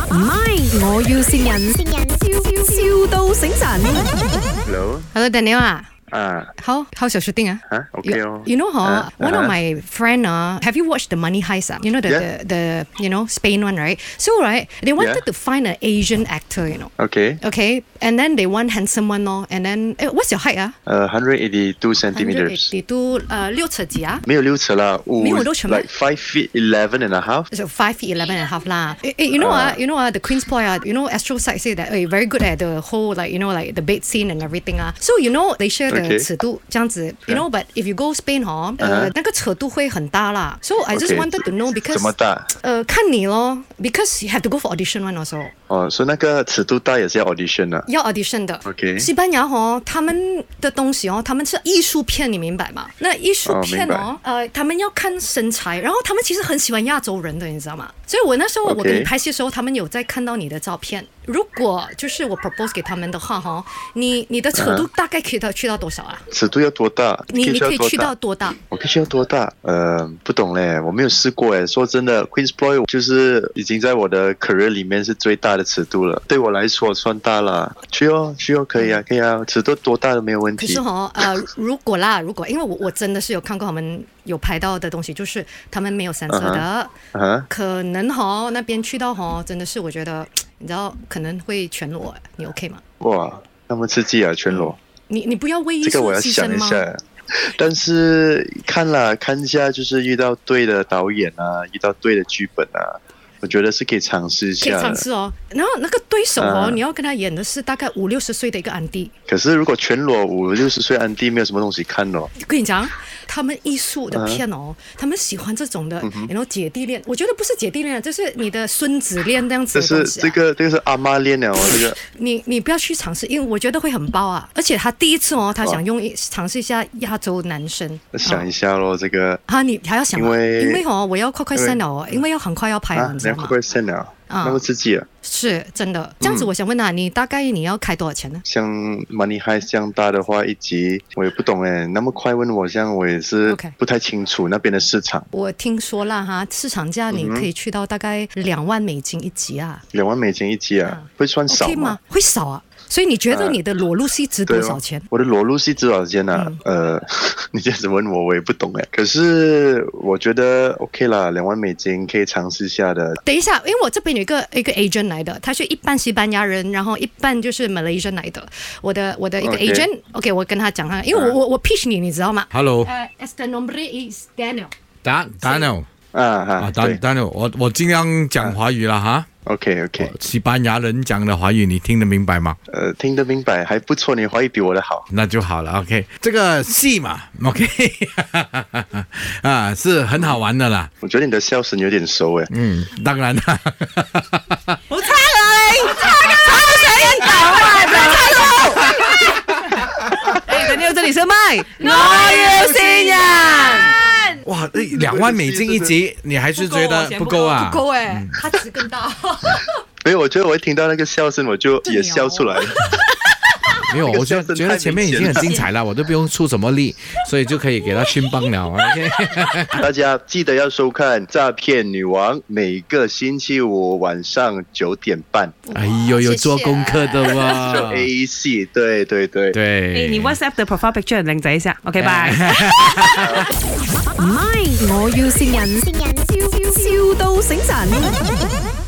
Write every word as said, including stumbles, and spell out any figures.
唔係，我要線人，笑笑到醒神。 Hello，Hello Daniel 啊。 啊， 好 ，how's your shooting 啊？ 啊 ，OK 哦。 You know, huh? Uh, one uh-huh. of my friend, uh, have you watched the Money Heist? Uh? You know the, Yeah. the the you know Spain one, right? So right, they wanted Yeah. to find an Asian actor, you know. Okay. Okay, and then they want handsome one, no. And then, eh, what's your height 啊？ 呃 one hundred eighty-two 1 centimeters。 eighty two，呃，六尺几啊？ 没有六尺啦，五没有六尺吗 like five feet eleven and a half。 So five feet eleven and a half 啦。Eh, eh, you know ah, you know ah, the Queen's Ploy ah, you know Astro side say that, eh, very good at the whole like you know like the bed scene and everything ah. So you know they share the Okay. 尺度这样子 you know, but if you go Spain 哦，呃，那个尺度会很大啦。So I just Okay. wanted to know because 怎么大？ 呃，看你咯 because you have to go for audition one also。 哦，所以那个尺度大也是要 audition 的。 要 audition 的 OK 西班牙哦，他们的东西哦，他们是艺术片，你明白吗？那艺术片哦， 哦呃，他们要看身材，然后他们其实很喜欢亚洲人的，你知道吗？所以我那时候 OK 我跟你拍戏的时候，他们有在看到你的照片。如果就是我 propose 给他们的话哈，你你的尺度大概可以到去到多少啊？ 尺度要多大？ 你你可以去到多大？ 多大？ 我可以去到多大？呃，不懂嘞，我没有试过诶。说真的 ，Queen's Ploy 就是已经在我的 career 里面是最大的尺度了，对我来说算大了。去哦，去哦，可以啊，可以啊，尺度多大都没有问题。 可是哈，呃，如果啦，如果因为我我真的是有看过他们有拍到的东西，就是他们没有三色的， uh-huh. Uh-huh. 可能哈那边去到哈，真的是我觉得你知道可能会全裸，你 OK 吗？ 哇，那么刺激啊，全裸！ 你你不要为艺术这个我要牺牲吗？ 想一下。但是看了看一下，就是遇到对的导演啊，遇到对的剧本啊，我觉得是可以尝试一下的。 可以尝试哦。然后那个对手哦， 啊你要跟他演的是大概五六十岁的一个安迪。 可是如果全裸五六十岁安迪没有什么东西看哦。 我跟你讲，他们艺术的片哦，他们喜欢这种的，然后姐弟恋。我觉得不是姐弟恋，就是你的孙子恋这样子这是的东西啊。 这个这个是阿妈恋了哦，这个。 你你不要去尝试，因为我觉得会很爆啊！而且他第一次哦，他想用一尝试一下亚洲男生。 想一下咯，这个。 啊，你还要想啊， 因为因为哦，我要快快 send 了哦，因为要很快要拍了， 啊， 你知道吗？ 快快 send 了， 啊那么刺激啊！ 是真的。这样子，我想问啊，你大概你要开多少钱呢？ 像 Money Heist 这样大的话，一集我也不懂哎，那么快问我，这样我也是 OK 不太清楚那边的市场。 我听说了哈，市场价你可以去到大概两万美金一集啊， 两万美金一集啊，会算少 OK 吗吗？？ 会少啊。所以你觉得你的裸露戏值多对哦少钱？ 我的裸露戏值多少钱呢、啊？呃，你这样子问我，我也不懂哎。可是我觉得 OK 啦，两万美金可以尝试一下的。 等一下，因为我这边有一个一个 agent 来的，他是一半西班牙人，然后一半就是 Malaysian 来的。我的我的一个 OK agent，OK，、okay, 我跟他讲哈，因为我、我我 pitch 你，你知道吗 Hello， 呃、uh,，Este nombre is Daniel。 Dan Daniel 啊啊哈， ，Dan 对 Daniel，我我尽量讲华语了哈。 ，OK OK， 西班牙人讲的华语你听得明白吗？ 呃，听得明白，还不错，你华语比我的好。 那就好了 ，OK。这个戏嘛，OK， 啊，是很好玩的啦。 我觉得你的笑声有点熟哎。 嗯，当然啦。 好差啊你，差啊，差死人講啊，差咯！哎，Daniel 這裡是麥，我要線人。 哇，两万美金一集，你还是觉得不够啊？ 不够哎，他值更大。 所以我觉得我一听到那个笑声，我就也笑出来了。 没有，我觉那个笑声得觉得前面已经很精彩了，我都不用出什么力，所以就可以给他熏崩了。OK， 大家记得要收看《诈骗女王》，每个星期五晚上九点半。 哎呦，有做功课的就哇！ A C， 对对对。 对， 誒，你 WhatsApp 的 profile picture 靚仔一下，OK，拜。 唔係，我要線人，笑笑到醒神。